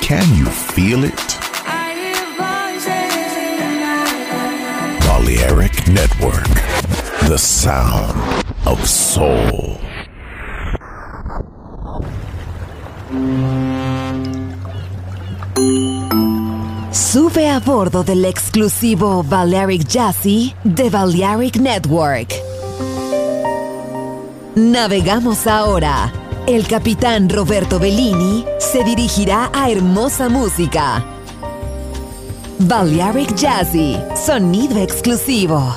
Can you feel it? Balearic Network, the sound of soul. Sube a bordo del exclusivo Balearic Jazzy de Balearic Network. Navegamos ahora. El capitán Roberto Bellini se dirigirá a hermosa música. Balearic Jazzy, sonido exclusivo.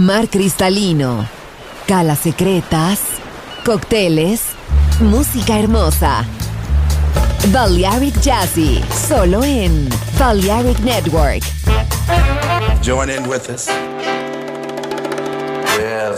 mar cristalino, calas secretas, cócteles, música hermosa. Balearic Jazzy, solo en Balearic Network. Join in with us. Yes.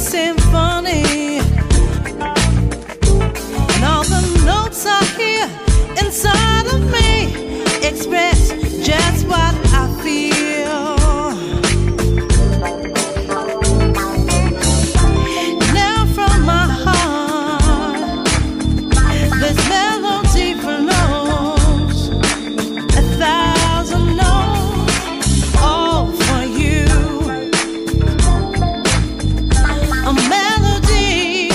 symphony, and all the notes are here inside of me, express just what I feel. Now from my heart, this melody flows 1,000 notes, all for you. A melody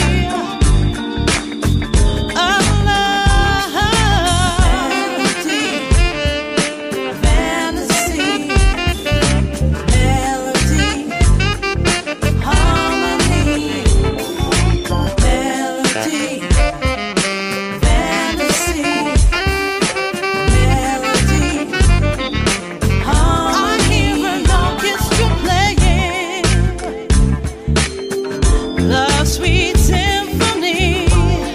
of love, fantasy, melody, harmony, melody, fantasy, melody, harmony. I hear an orchestra playing the sweet symphony.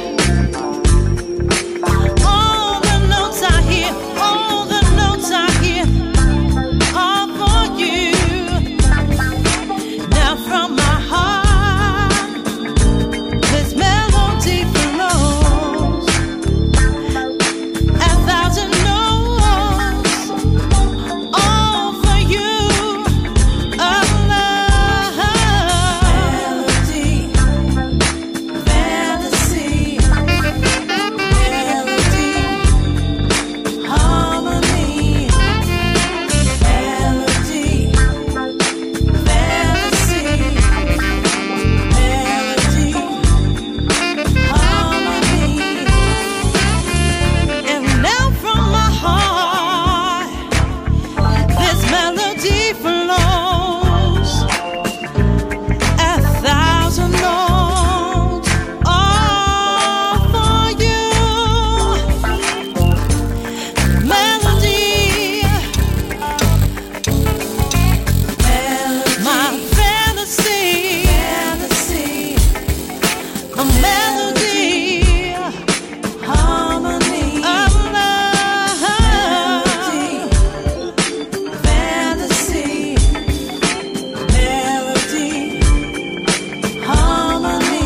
All the notes I hear, all the notes I hear are for you. Now from my heart, this melody flows 1,000 notes, all for you. Of love, melody, fantasy, melody, harmony, melody, fantasy, melody, harmony. And now from my heart, this melody flows 1,000 notes, all for you. Melody, my fantasy, a melody, harmony of love, fantasy, melody, harmony.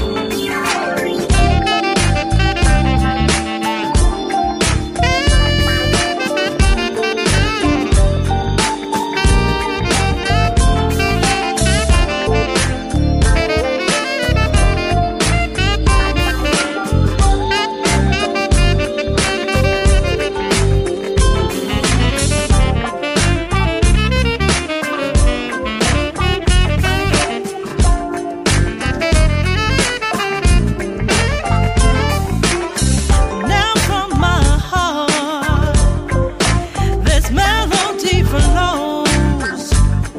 Now from my heart, this melody flows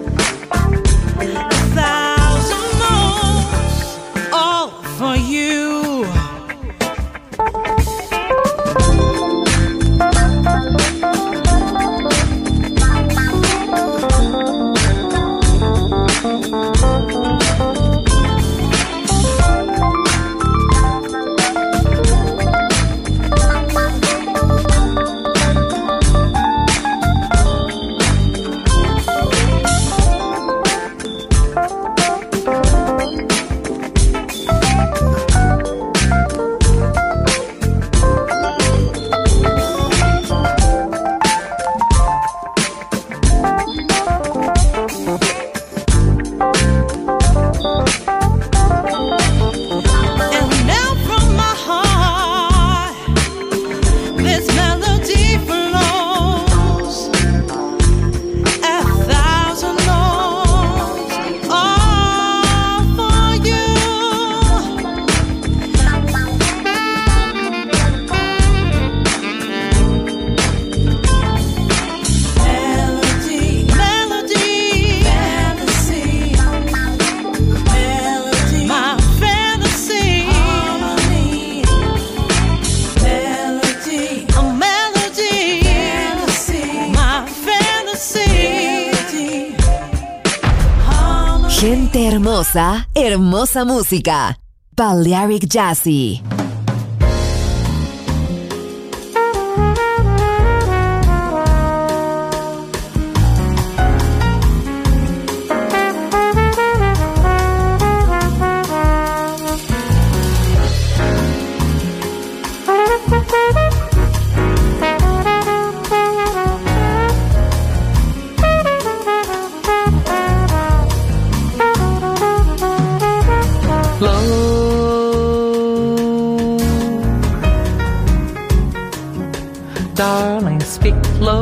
1,000 notes, all for you. And now from my heart, this melody flows 1,000 notes, all for you. Melody, melody, fantasy, melody, my fantasy, harmony, melody, a melody, fantasy, my fantasy, harmony. Gente hermosa, hermosa música. Balearic Jazzy. Darling, speak low.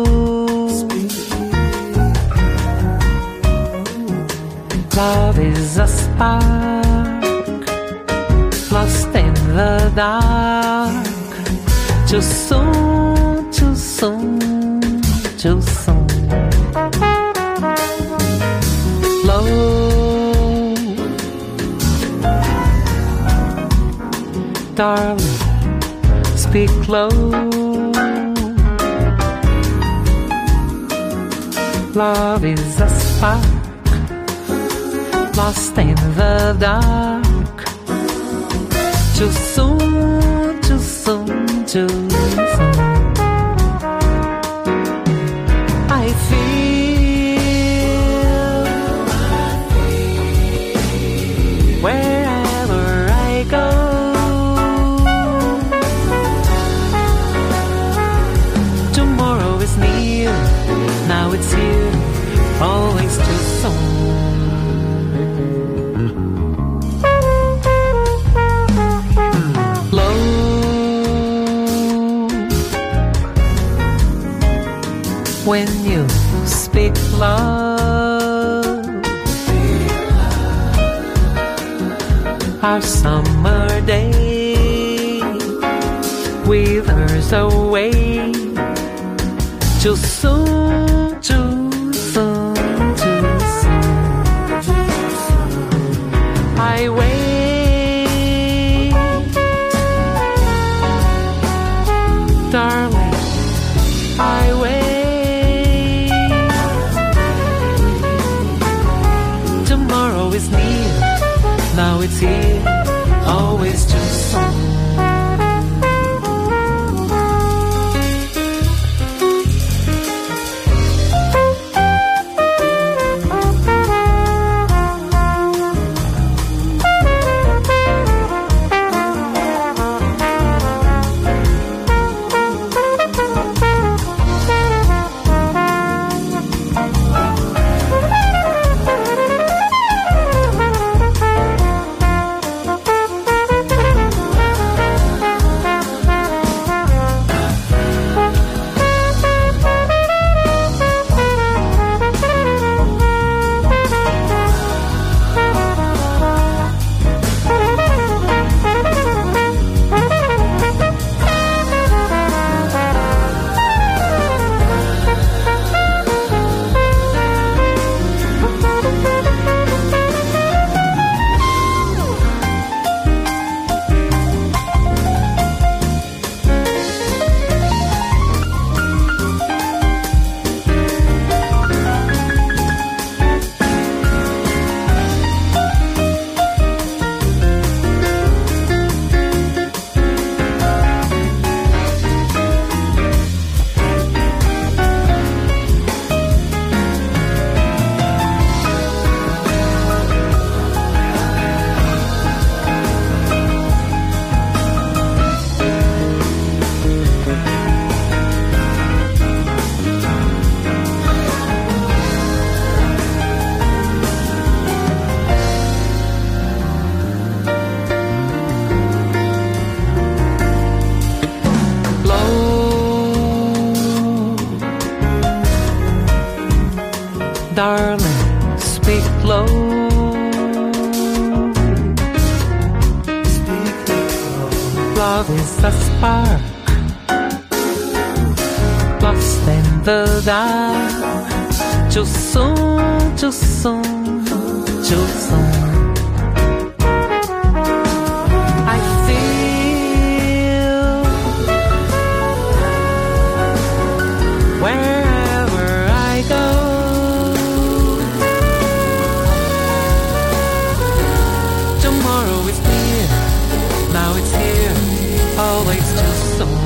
Love is a spark lost in the dark. Too soon, too soon, too soon. Low. Darling, speak low. Love is a spark lost in the dark. Too soon, too soon, too soon. I feel wherever I go. Tomorrow is near, now it's here, always too soon. When you speak love, our summer day withers away. Too soon, too soon, too soon. I wait, darling, I wait. Tomorrow is near, now it's here, always too soon. Darling, speak low. Speak low. Love is a spark lost in the dark. Too soon, too soon, too soon. I feel wherever I go. Tomorrow is near, now it's here, always too soon.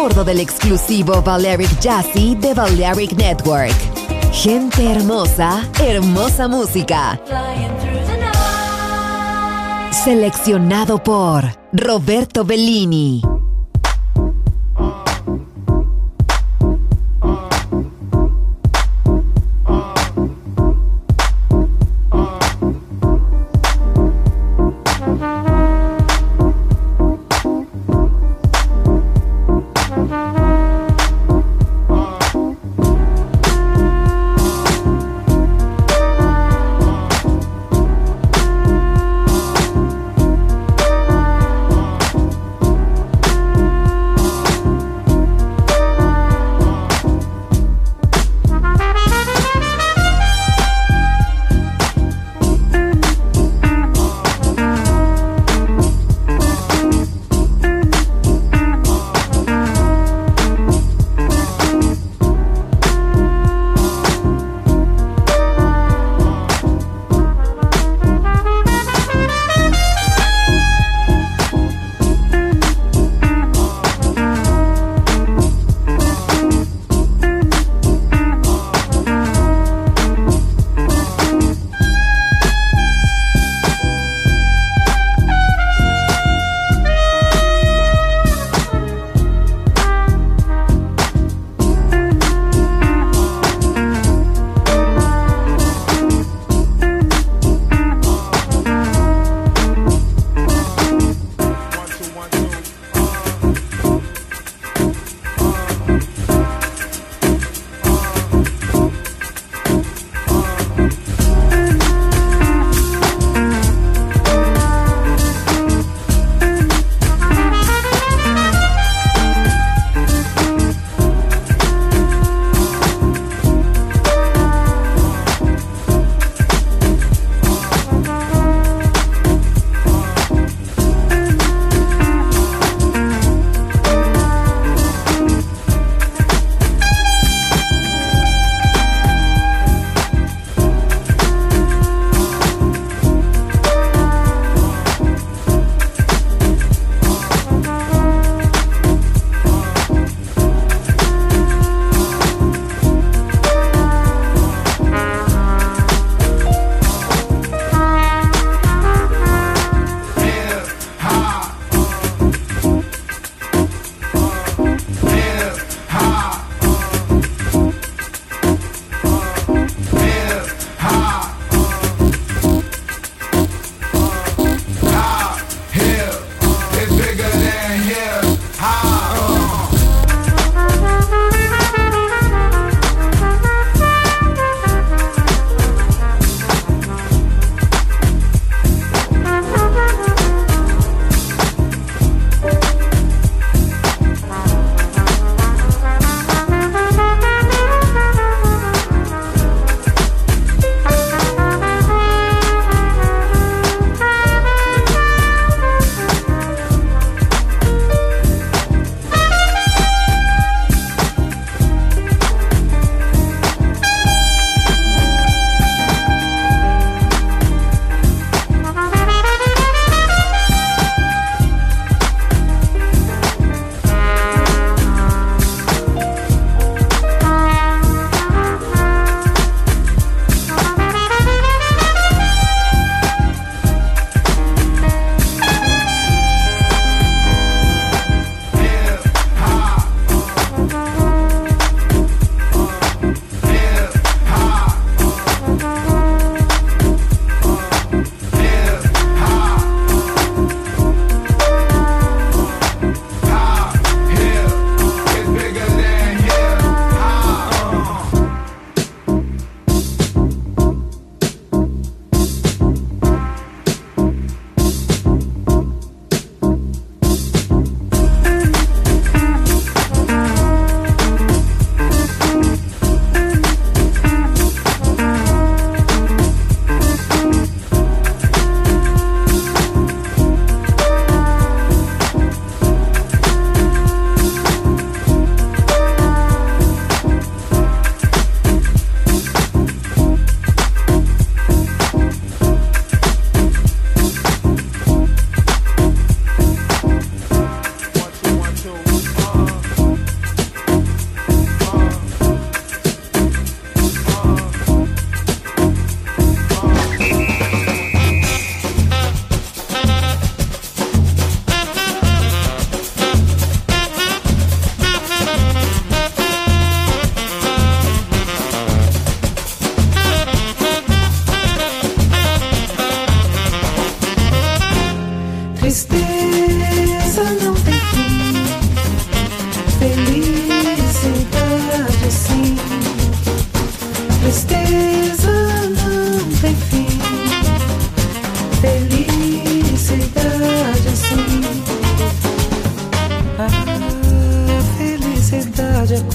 bordo del exclusivo Balearic Jazzy de Balearic Network. Gente hermosa, hermosa música. Seleccionado por Roberto Bellini.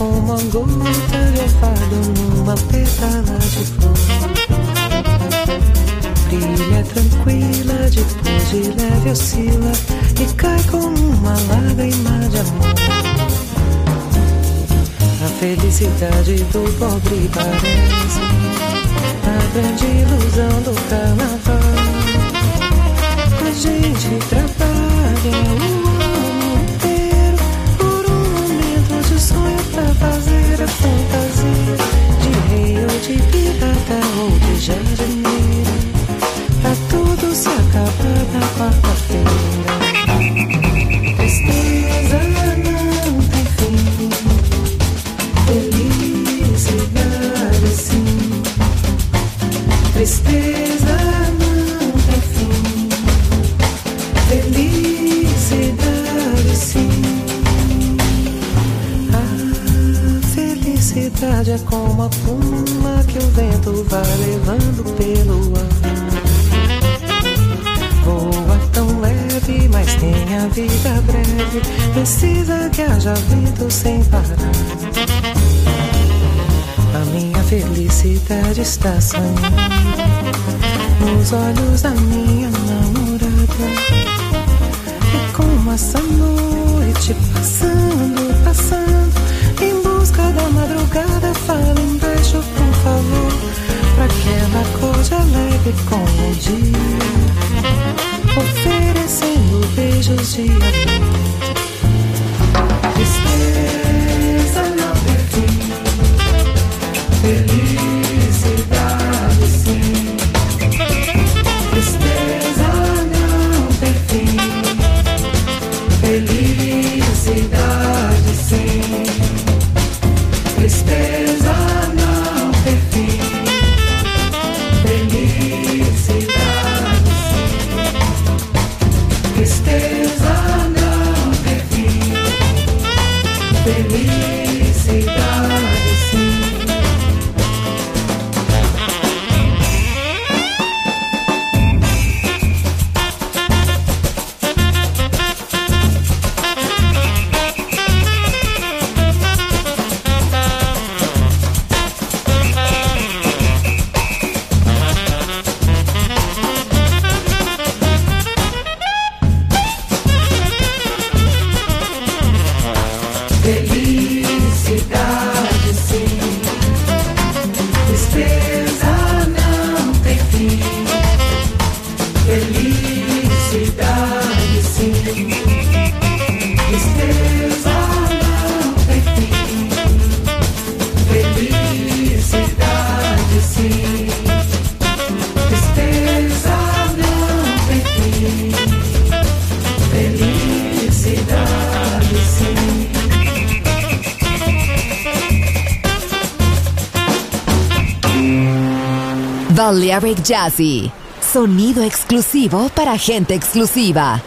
como a gota de orvalho numa pétala de flor. Brilha tranquila, depois de leve oscila e cai como uma lágrima de amor. A felicidade do pobre parece a grande ilusão do carnaval. A gente trabalha o ano inteiro por um momento de sonho pra fazer a fantasia de rei ou de pirata ou de jardineiro, pra tudo se acabar na quarta-feira. Tristeza não tem fim, felicidade sim. Tristeza não tem fim, felicidade sim. A felicidade é como a pluma que o vento vai levando pelo ar. Voa tão leve, mas tem a vida breve, precisa que haja vento sem parar. A minha felicidade está sonhando nos olhos da minha namorada. É como essa noite passando, passando, em busca da madrugada. Fala embaixo, por favor, pra que ela acorde alegre com o dia, oferecendo beijos de amor. Tristeza não tem fim, felicidade sim. Tristeza não tem fim, felicidade sim. Tristeza não tem fim, felicidade sim. Tristeza não tem fim, felicidade sim. Felicidade sim, tristeza não tem fim, felicidade sim. Tristeza não tem fim, felicidade sim. Tristeza não tem fim, felicidade sim. Balearic Jazzy, sonido exclusivo para gente exclusiva.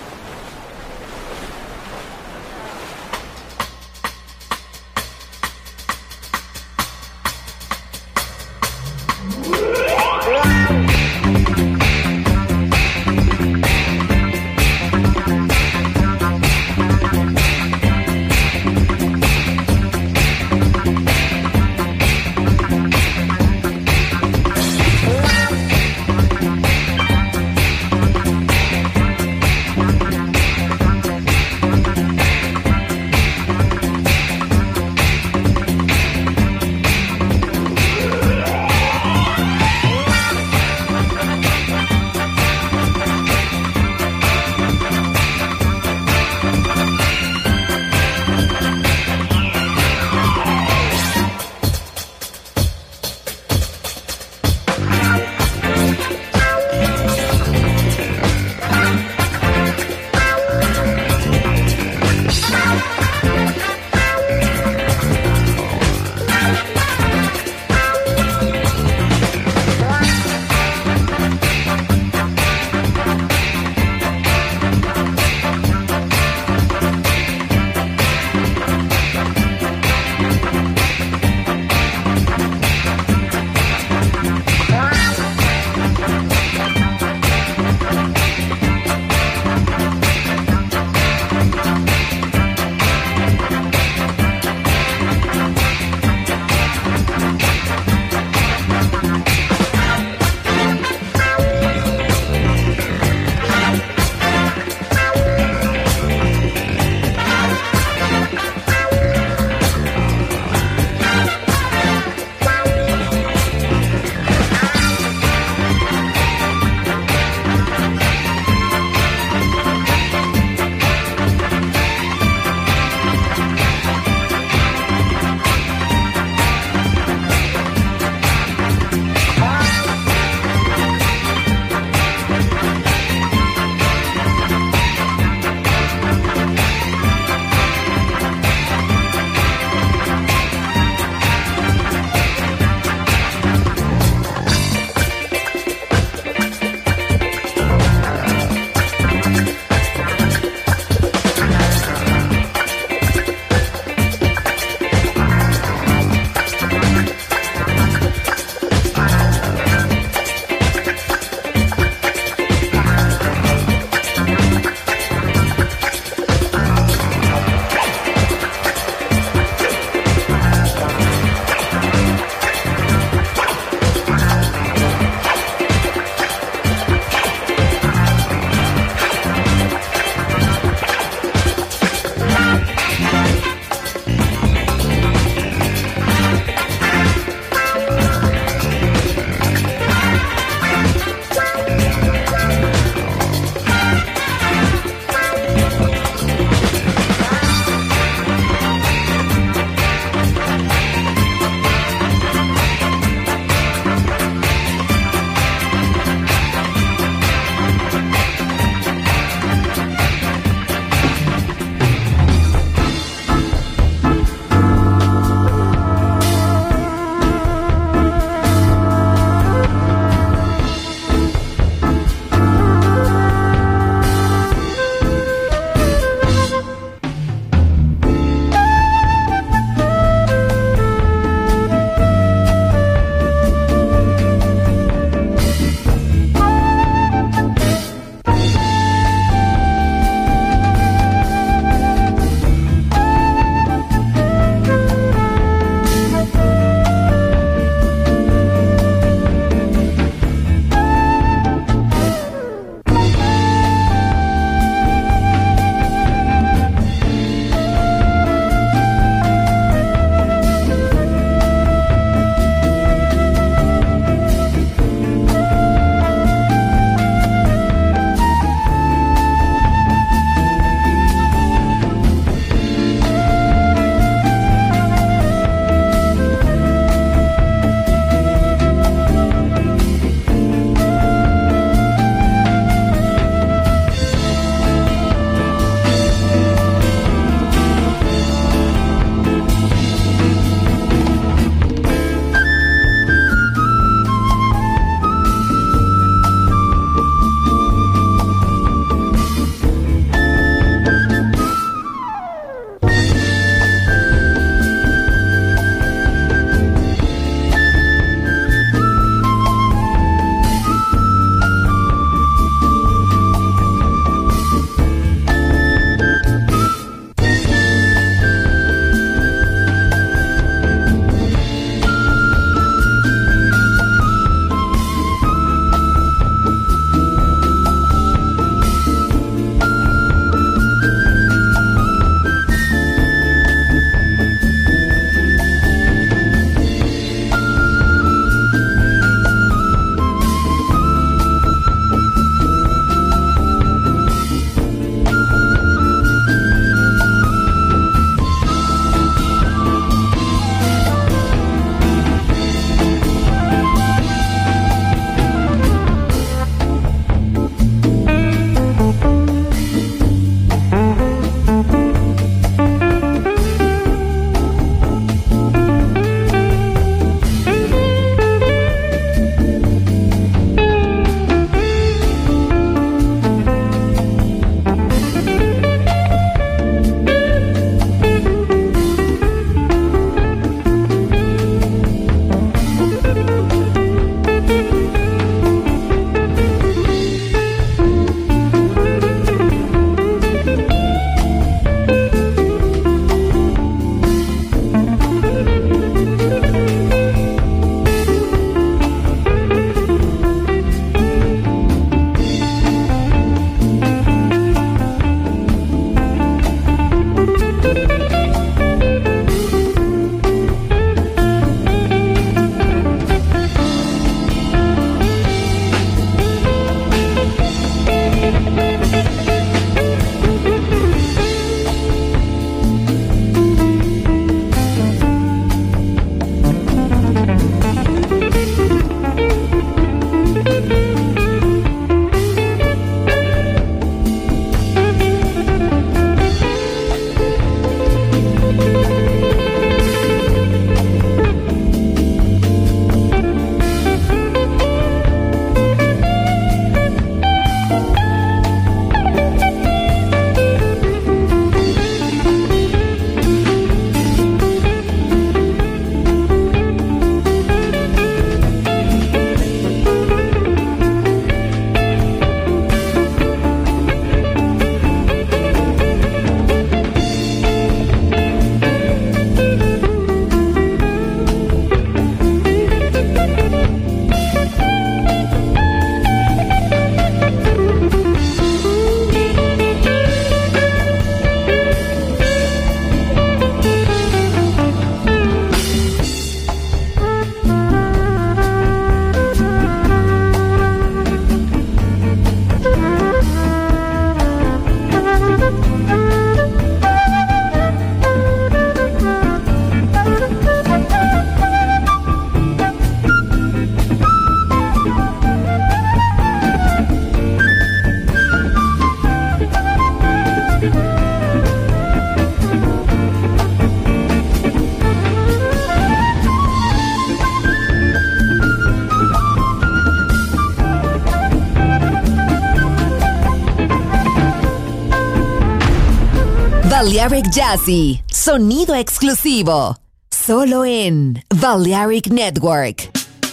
Balearic Jazzy, sonido exclusivo, solo en Balearic Network.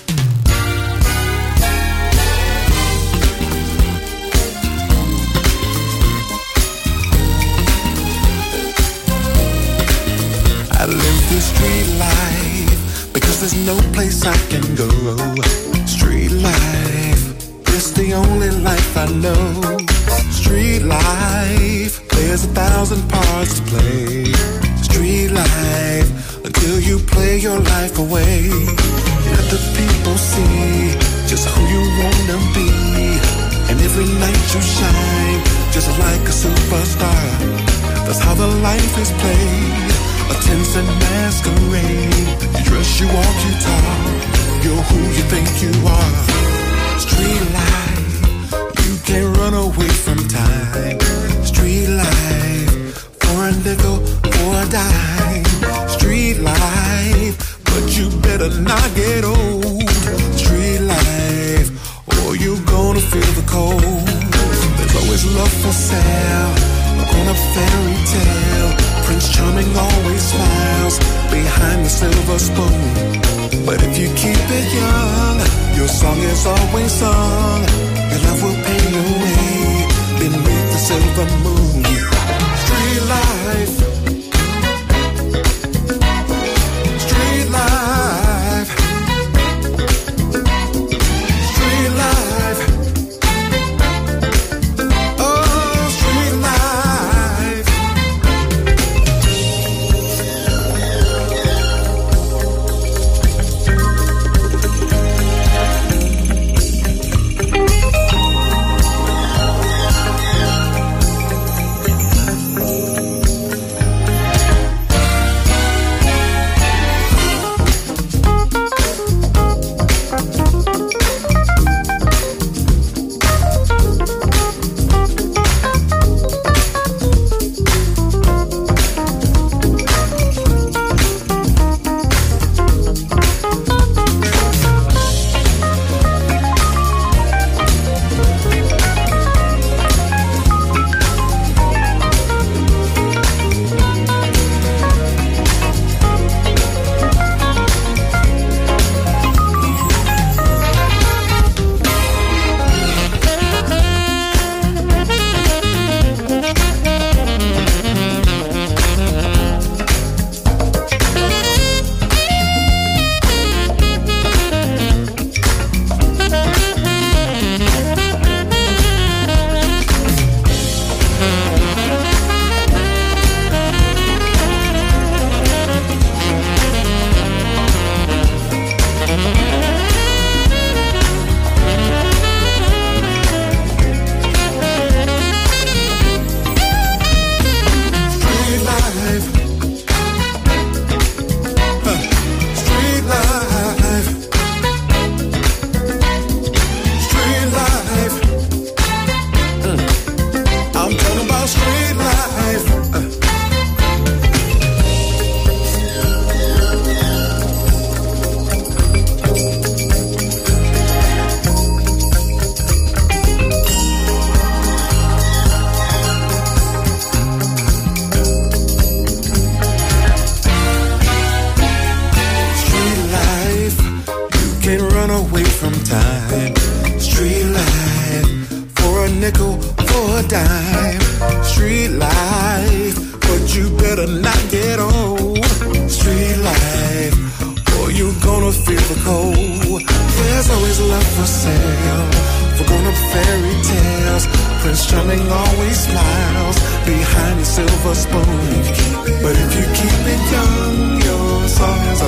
I live this street life because there's no place I can go. Street life, it's the only life I know. Street life, there's 1,000 parts to play. Street life, until you play your life away. Let the people see just who you wanna be. And every night you shine, just like a superstar. That's how the life is played. A tense and masquerade. You dress, you walk, you talk. You're who you think you are. Street life, you can't run away from time. Street life, for a nickel, for a dime. Street life, but you better not get old. Street life, or you're gonna feel the cold. There's always love for sale, on a fairy tale. Prince Charming always smiles behind the silver spoon. But if you keep it young, your song is always sung. Your love will pay your way beneath the silver moon. Street life, street life, street life. Oh, street life. But if you keep it young, your song is